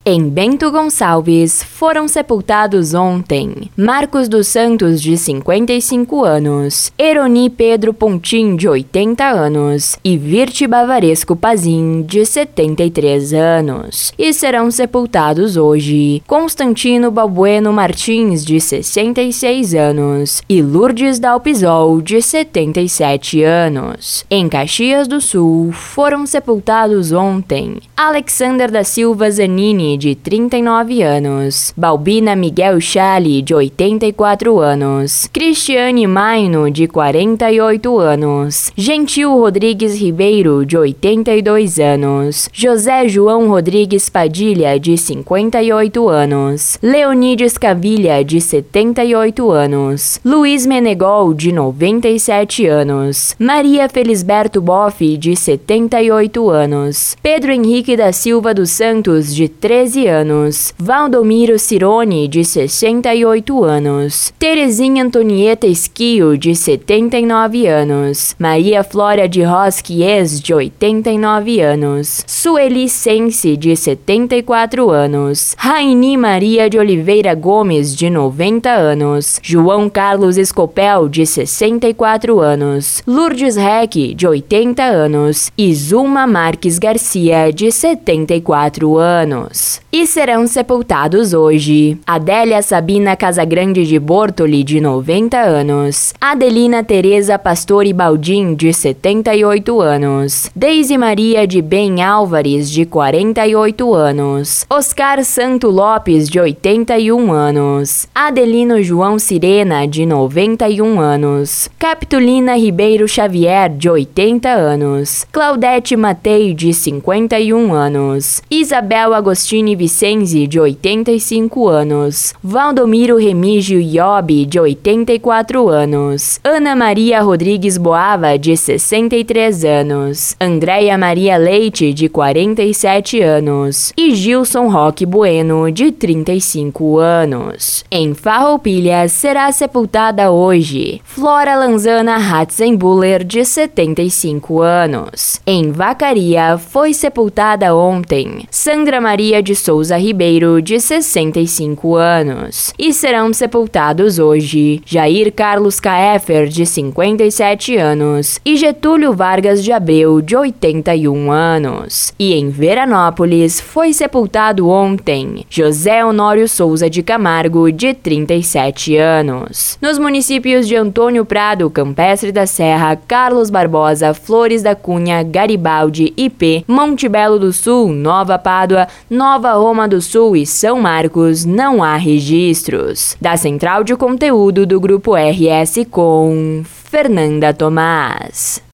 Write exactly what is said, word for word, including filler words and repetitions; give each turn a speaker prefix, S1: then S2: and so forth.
S1: Em Bento Gonçalves, foram sepultados ontem Marcos dos Santos, de cinquenta e cinco anos, Eroni Pedro Pontim, de oitenta anos, e Virte Bavaresco Pazin, de setenta e três anos. E serão sepultados hoje Constantino Balbueno Martins, de sessenta e seis anos, e Lourdes Dalpisol, de setenta e sete anos. Em Caxias do Sul, foram sepultados ontem Alexander da Silva Zanini, de trinta e nove anos, Balbina Miguel Chale, de oitenta e quatro anos, Cristiane Maino, de quarenta e oito anos, Gentil Rodrigues Ribeiro, de oitenta e dois anos, José João Rodrigues Padilha, de cinquenta e oito anos, Leonides Cavilha, de setenta e oito anos, Luiz Menegol, de noventa e sete anos, Maria Felisberto Boff, de setenta e oito anos, Pedro Henrique da Silva dos Santos, de treze anos, Valdomiro Cirone, de sessenta e oito anos, Terezinha Antonieta Esquio, de setenta e nove anos, Maria Flória de Rosquies, de oitenta e nove anos, Sueli Sense, de setenta e quatro anos, Raini Maria de Oliveira Gomes, de noventa anos, João Carlos Escopel, de sessenta e quatro anos, Lourdes Reck, de oitenta anos, e Zulma Marques Garcia, de setenta e quatro anos. E serão sepultados hoje Adélia Sabina Casagrande de Bortoli, de noventa anos, Adelina Tereza Pastore Baldin, de setenta e oito anos, Deise Maria de Bem Álvares, de quarenta e oito anos, Oscar Santo Lopes, de oitenta e um anos, Adelino João Sirena, de noventa e um anos, Capitulina Ribeiro Xavier, de oitenta anos, Claudete Matei, de cinquenta e um anos, Isabel Agostini Vicenzi, de oitenta e cinco anos, Valdomiro Remígio Iobi, de oitenta e quatro anos, Ana Maria Rodrigues Boava, de sessenta e três anos, Andréia Maria Leite, de quarenta e sete anos, e Gilson Roque Bueno, de trinta e cinco anos. Em Farroupilha será sepultada hoje Flora Lanzana Ratzenbuller, de setenta e cinco anos. Em Vacaria foi sepultada ontem Sandra Maria de Souza Ribeiro, de sessenta e cinco anos. E serão sepultados hoje Jair Carlos Kaefer, de cinquenta e sete anos, e Getúlio Vargas de Abreu, de oitenta e um anos. E em Veranópolis foi sepultado ontem José Honório Souza de Camargo, de trinta e sete anos. Nos municípios de Antônio Prado, Campestre da Serra, Carlos Barbosa, Flores da Cunha, Garibaldi, Ipê, Monte Belo do Sul, Nova Pádua, Nova Roma do Sul e São Marcos não há registros. Da Central de Conteúdo do Grupo R S com Fernanda Tomás.